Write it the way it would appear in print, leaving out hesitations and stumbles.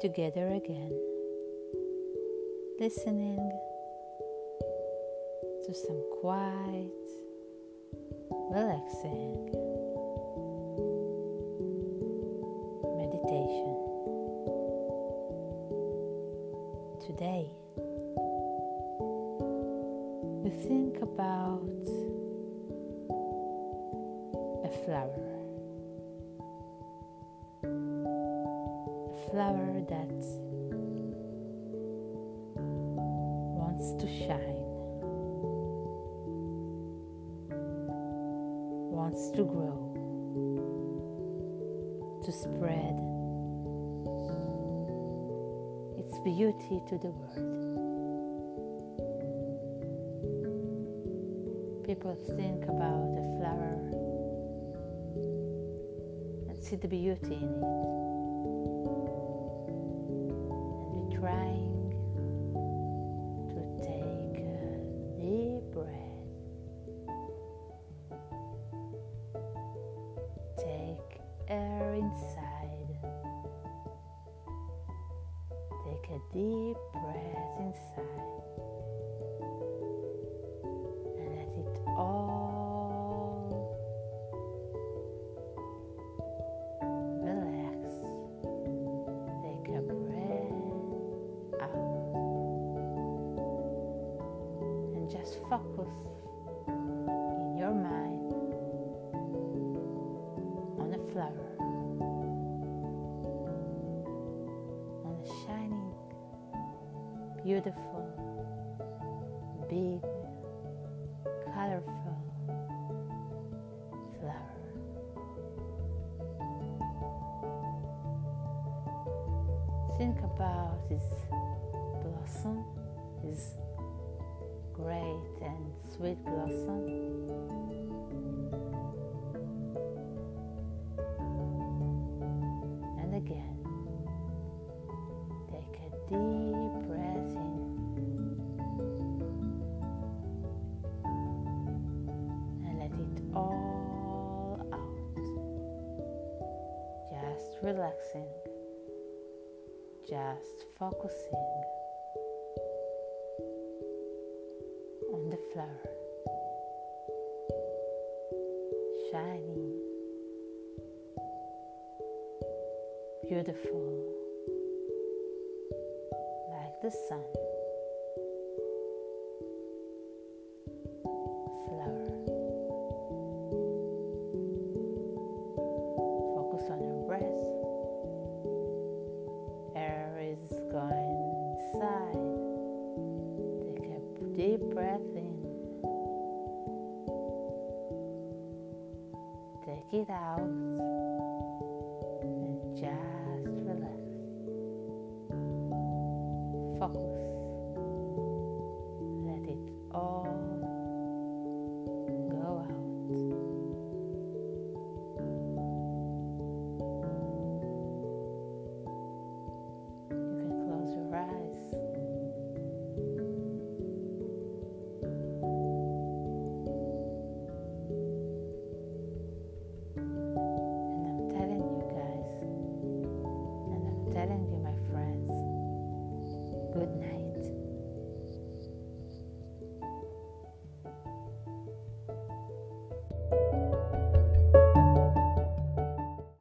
together again, listening to some quiet, relaxing meditation. Today, we think about a flower. A flower that wants to shine, wants to grow, to spread its beauty to the world. People think about a flower and see the beauty in it, and be trying to take a deep breath, take air inside, take a deep breath inside, and let it all relax. Take a breath out and just focus in your mind on a flower, on a shining, beautiful, big, colorful flower. Think about his blossom, his great and sweet blossom. And again, take a deep breath in and let it all out. Just relaxing, just focusing on the flower, shining, beautiful, like the sun. Flower. Focus on your breath. Air is going inside. Take a deep breath in. Take it out.